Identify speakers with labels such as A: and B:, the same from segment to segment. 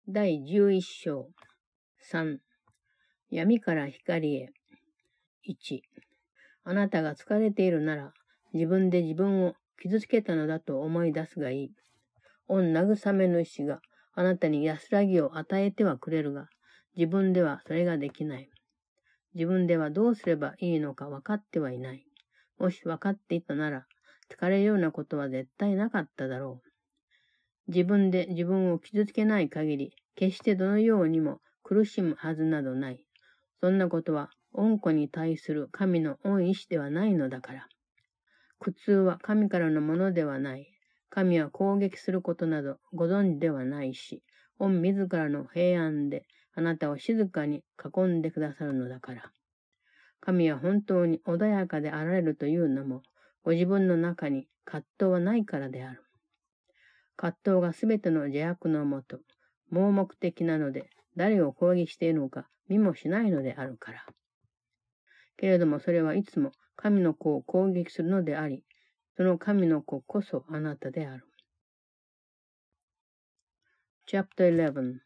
A: 第11章。3、闇から光へ。1、あなたが疲れているなら、自分で自分を傷つけたのだと思い出すがいい。御慰め主があなたに安らぎを与えてはくれるが、自分ではそれができない。自分ではどうすればいいのか分かってはいない。もし分かっていたなら、疲れるようなことは絶対なかっただろう。自分で自分を傷つけない限り、決してどのようにも苦しむはずなどない。そんなことは、恩子に対する神の恩意志ではないのだから。苦痛は神からのものではない。神は攻撃することなどご存知ではないし、御自らの平安であなたを静かに囲んでくださるのだから。神は本当に穏やかであられるというのも、ご自分の中に葛藤はないからである。葛藤がすべての邪悪のもと、盲目的なので、誰を攻撃しているのか見もしないのであるから。けれどもそれはいつも神の子を攻撃するのであり、その神の子こそあなたである。Chapter 11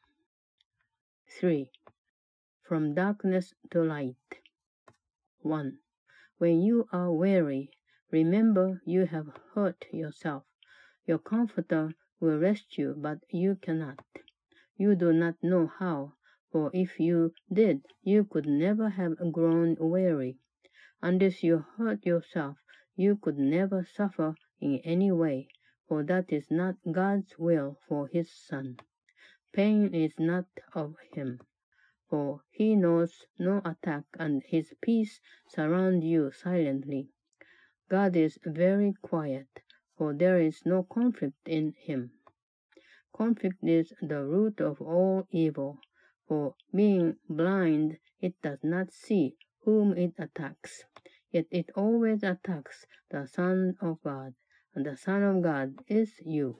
A: 3. From darkness to light 1. When you are weary, remember you have hurt yourself. Your comforter will rest you, but you cannot. You do not know how, for if you did, you could never have grown weary. Unless you hurt yourself, you could never suffer in any way, for that is not God's will for his Son. Pain is not of him, for he knows no attack, and his peace surrounds you silently. God is very quiet, for there is no conflict in him. Conflict is the root of all evil, for being blind, it does not see whom it attacks. Yet it always attacks the Son of God, and the Son of God is you.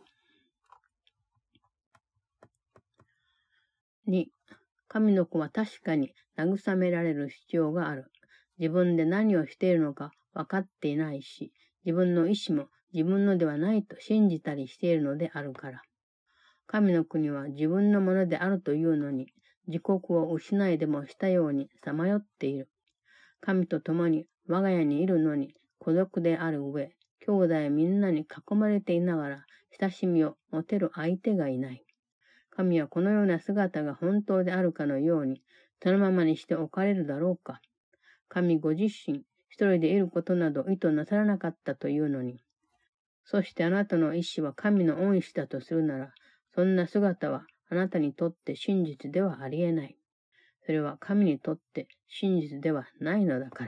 A: 2. 神の子は確かに慰められる必要がある。自分で何をしているのか分かっていないし、自分の意志も自分のではないと信じたりしているのであるから。神の国は自分のものであるというのに、自国を失いでもしたようにさまよっている。神と共に我が家にいるのに孤独である上、兄弟みんなに囲まれていながら親しみを持てる相手がいない。神はこのような姿が本当であるかのように、そのままにしておかれるだろうか。神ご自身、一人でいることなど意図なさらなかったというのに。そしてあなたの意志は神の恩師だとするなら、そんな姿はあなたにとって真実ではありえない。それは神にとって真実ではないのだから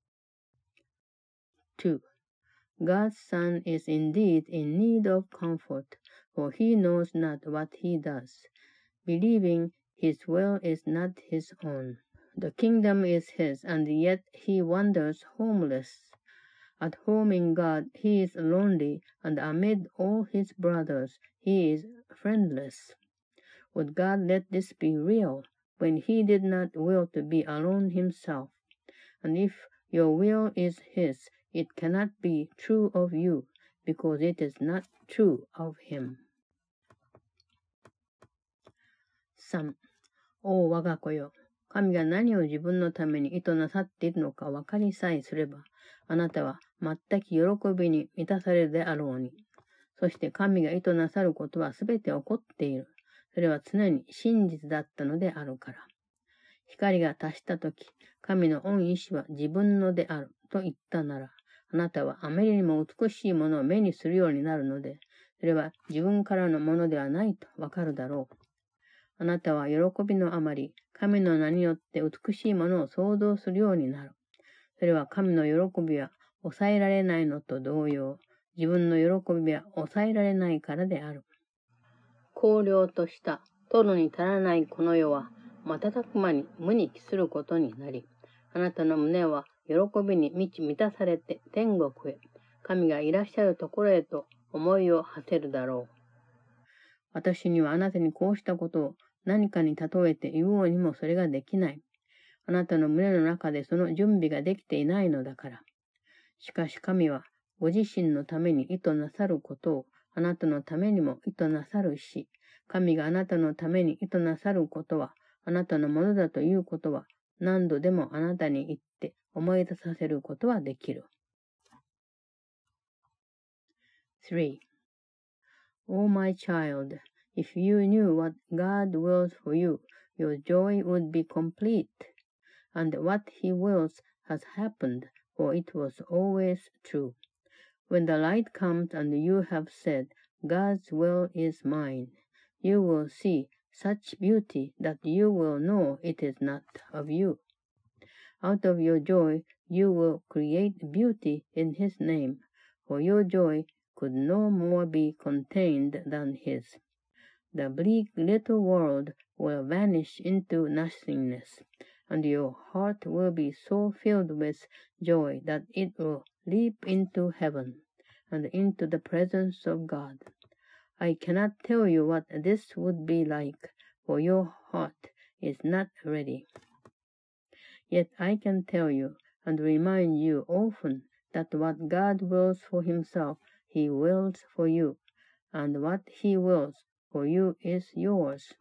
A: 。2. God's Son is indeed in need of comfort, for he knows not what he does. Believing his will is not his own. The kingdom is his, and yet he wanders homeless. At home in God, he is lonely, and amid all his brothers, he is friendless. Would God let this be real, when he did not will to be alone himself? And if your will is his, it cannot be true of you, because it is not true of him. 3. お我が子よ、神が何を自分のために意図なさっているのか分かりさえすれば、あなたは全く喜びに満たされるであろうに。そして神が意図なさることはすべて起こっている。それは常に真実だったのであるから。光が達したとき、神の恩意志は自分のであると言ったなら、あなたはあまりにも美しいものを目にするようになるので、それは自分からのものではないとわかるだろう。あなたは喜びのあまり、神の名によって美しいものを想像するようになる。それは神の喜びは抑えられないのと同様、自分の喜びは抑えられないからである。荒涼とした取るに足らないこの世は、瞬く間に無に帰することになり、あなたの胸は喜びに満たされて天国へ、神がいらっしゃるところへと思いを馳せるだろう。私にはあなたにこうしたことを何かに例えて言おうにもそれができない。あなたの胸の中でその準備ができていないのだから。しかし神はご自身のために意図なさることをあなたのためにも意図なさるし、 神があなたのために意図なさることは、あなたのものだということは、何度でもあなたに言って思い出させることはできる。3. O my child, if you knew what God wills for you, your joy would be complete, and what He wills has happened, for it was always true. When the light comes and you have said, God's will is mine, you will see such beauty that you will know it is not of you. Out of your joy you will create beauty in His name, for your joy could no more be contained than His. The bleak little world will vanish into nothingness, and your heart will be so filled with joy that it will leap into heaven and into the presence of God. I cannot tell you what this would be like, for your heart is not ready. Yet I can tell you and remind you often that what God wills for Himself, He wills for you, and what He wills for you is yours.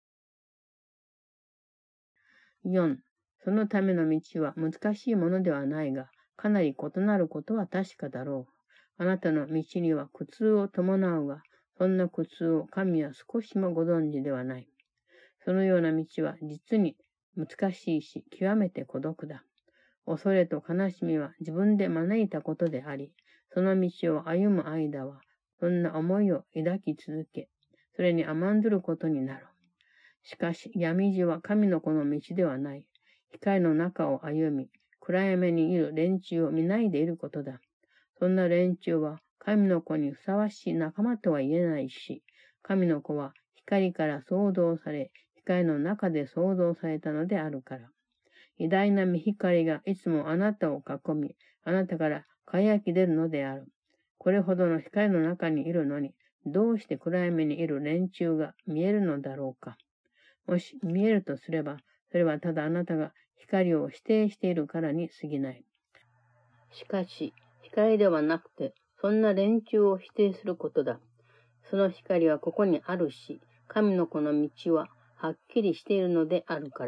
A: 4. そのための道は難しいものではないが、かなり異なることは確かだろう。あなたの道には苦痛を伴うが、そんな苦痛を神は少しもご存知ではない。そのような道は実に難しいし、極めて孤独だ。恐れと悲しみは自分で招いたことであり、その道を歩む間は、そんな思いを抱き続け、それに甘んずることになる。しかし、闇路は神の子の道ではない。光の中を歩み、暗闇にいる連中を見ないでいることだ。そんな連中は、神の子にふさわしい仲間とは言えないし、神の子は光から創造され、光の中で創造されたのであるから。偉大な御光がいつもあなたを囲み、あなたから輝き出るのである。これほどの光の中にいるのに、どうして暗闇にいる連中が見えるのだろうか。もし見えるとすれば、それはただあなたが光を否定しているからに過ぎない。しかし、光ではなくて、そんな連中を否定することだ。その光はここにあるし、神の子の道ははっきりしているのであるから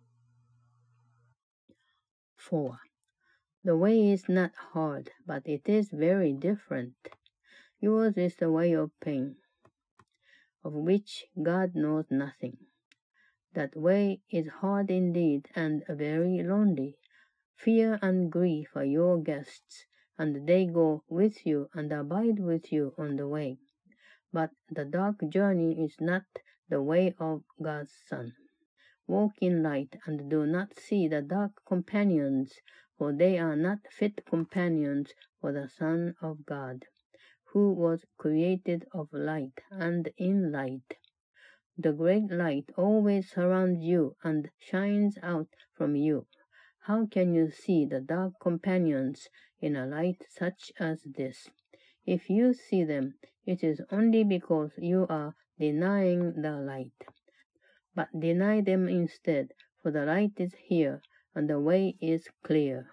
A: 。4. The way is not hard, but it is very different. Yours is the way of pain, of which God knows nothing. That way is hard indeed and very lonely. Fear and grief are your guests, and they go with you and abide with you on the way. But the dark journey is not the way of God's Son. Walk in light and do not see the dark companions, for they are not fit companions for the Son of God, who was created of light and in light. The great light always surrounds you and shines out from you. How can you see the dark companions in a light such as this? If you see them, it is only because you are denying the light. But deny them instead, for the light is here, and the way is clear.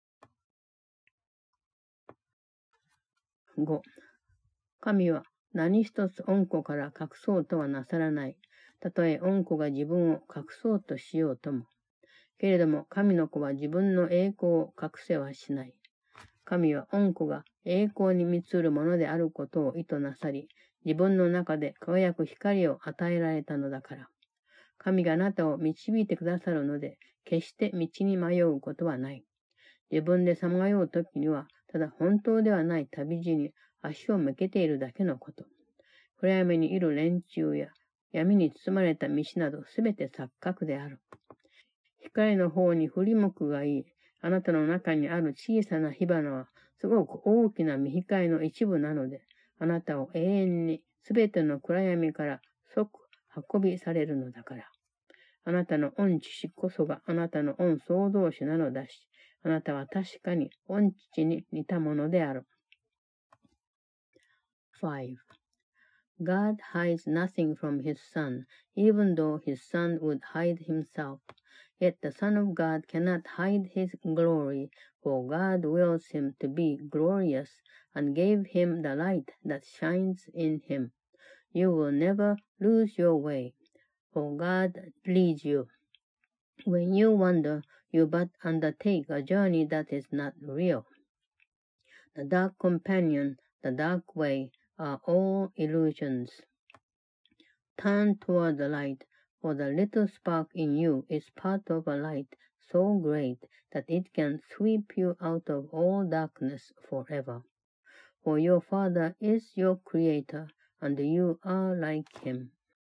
A: 5. 神は何一つ恩子から隠そうとはなさらない。たとえ恩子が自分を隠そうとしようとも。けれども神の子は自分の栄光を隠せはしない。神は恩子が栄光に満ちるものであることを意図なさり、自分の中で輝く光を与えられたのだから。神があなたを導いてくださるので、決して道に迷うことはない。自分でさまようときには、ただ本当ではない旅路に足を向けているだけのこと。暗闇にいる連中や闇に包まれた道などすべて錯覚である。光の方に振り向くがいい。あなたの中にある小さな火花は、すごく大きな御光の一部なので、あなたを永遠にすべての暗闇から即運びされるのだから。あなたの御父こそがあなたの御創造主なのだし、あなたは確かに御父に似たものである。5. God hides nothing from his Son, even though his Son would hide himself. Yet the Son of God cannot hide his glory, for God wills him to be glorious, and gave him the light that shines in him. you will never lose your way, for God leads you. When you wander, you but undertake a journey that is not real. The dark companion, the dark way, are all illusions. Turn toward the light, for the little spark in you is part of a light so great that it can sweep you out of all darkness forever. For your Father is your Creator, and you are like Him.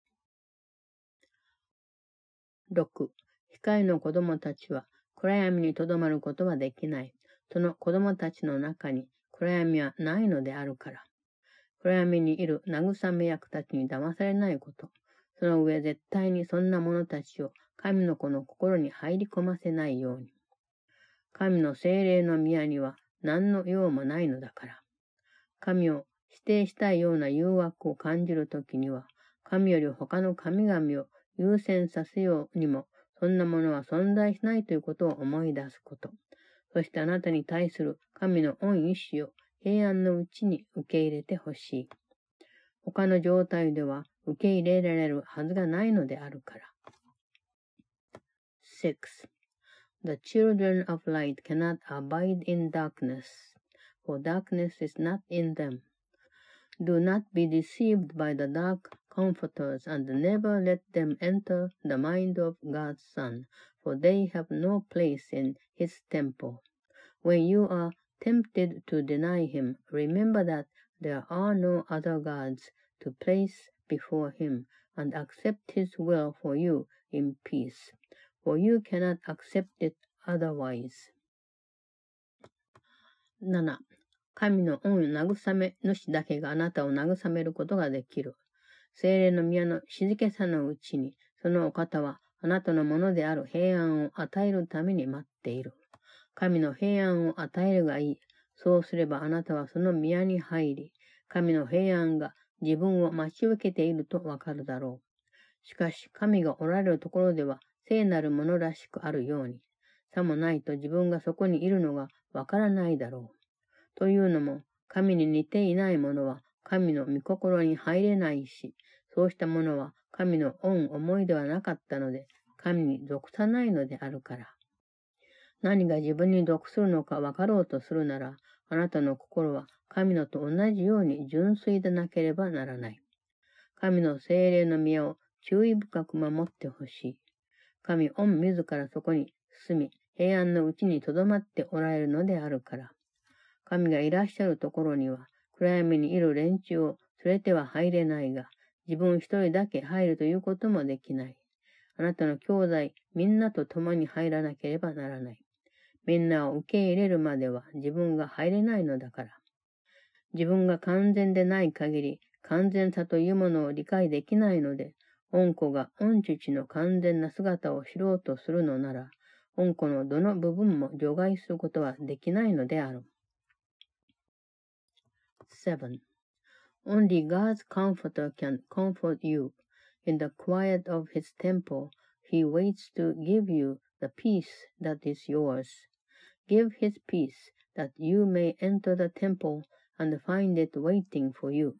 A: 6.光の子供たちは暗闇にとどまることはできない。その子供たちの中に暗闇はないのであるから。暗闇にいる慰め役たちに騙されないこと。その上絶対にそんな者たちを神の子の心に入り込ませないように。神の聖霊の宮には何の用もないのだから。神を否定したいような誘惑を感じるときには、神より他の神々を優先させようにも、そんなものは存在しないということを思い出すこと。そしてあなたに対する神の御意志を平安のうちに受け入れてほしい。他の状態では受け入れられるはずがないのであるから。6. The children of light cannot abide in darkness, for darkness is not in them. Do not be deceived by the dark comforters, and never let them enter the mind of God's Son, for they have no place in His temple. When you are tempted to deny Him, remember that there are no other gods to place before Him, and accept His will for you in peace, for you cannot accept it otherwise. 7. 神の御慰め主だけがあなたを慰めることができる。聖霊の宮の静けさのうちに、そのお方はあなたのものである平安を与えるために待っている。神の平安を与えるがいい。そうすればあなたはその宮に入り、神の平安が自分を待ち受けているとわかるだろう。しかし神がおられるところでは聖なるものらしくあるように、さもないと自分がそこにいるのがわからないだろう。というのも、神に似ていないものは神の御心に入れないし、そうしたものは神の御思いではなかったので、神に属さないのであるから。何が自分に属するのか分かろうとするなら、あなたの心は神のと同じように純粋でなければならない。神の聖霊の宮を注意深く守ってほしい。神御自らそこに住み、平安のうちにとどまっておられるのであるから。神がいらっしゃるところには、暗闇にいる連中を連れては入れないが、自分一人だけ入るということもできない。あなたの兄弟みんなと共に入らなければならない。みんなを受け入れるまでは自分が入れないのだから。自分が完全でない限り、完全さというものを理解できないので、御子が御父の完全な姿を知ろうとするのなら、御子のどの部分も除外することはできないのである。7. Only God's Comforter can comfort you. In the quiet of His temple, He waits to give you the peace that is yours. Give His peace, that you may enter the temple and find it waiting for you.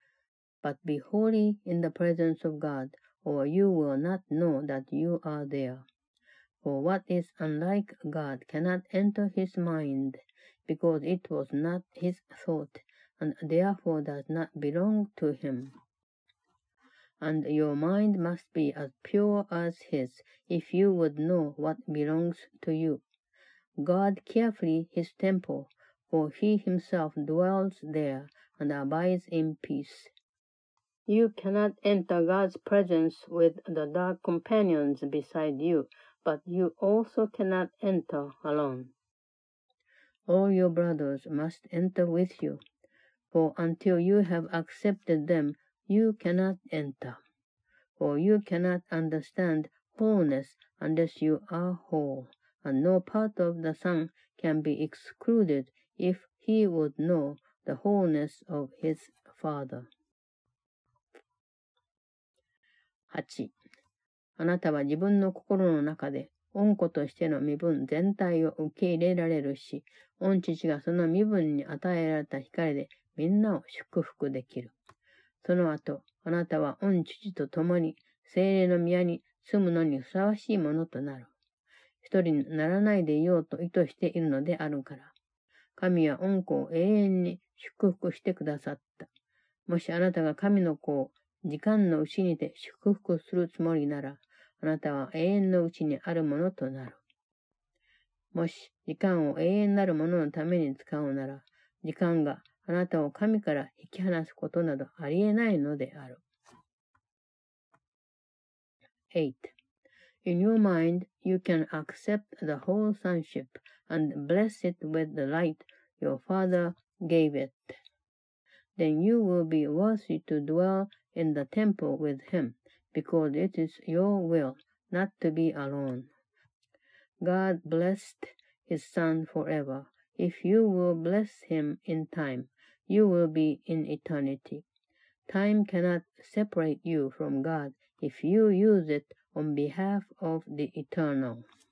A: But be holy in the presence of God, or you will not know that you are there. For what is unlike God cannot enter His mind, because it was not His thought,and therefore does not belong to Him. And your mind must be as pure as His, if you would know what belongs to you. Guard carefully His temple, for He Himself dwells there and abides in peace. You cannot enter God's presence with the dark companions beside you, but you also cannot enter alone. All your brothers must enter with you.For until you have accepted them, you cannot enter. For you cannot understand wholeness unless you are whole, and no part of the Son can be excluded if he would know the wholeness of his Father. 8. あなたは自分の心の中で、御子としての身分全体を受け入れられるし、御父がその身分に与えられた光でみんなを祝福できる。 その後、あなたは御父と共に聖霊の宮に住むのにふさわしいものとなる。一人にならないでいようと意図しているのであるから。神は御子を永遠に祝福してくださった。もしあなたが神の子を時間のうちにて祝福するつもりなら、あなたは永遠のうちにあるものとなる。もし時間を永遠なるもののために使うなら、時間があなたを神から引き離すことなどありえないのである。8.In your mind, you can accept the whole sonship and bless it with the light your Father gave it. Then you will be worthy to dwell in the temple with him, because it is your will not to be alone. God blessed his Son forever. If you will bless him in time, you will be in eternity. Time cannot separate you from God if you use it on behalf of the eternal.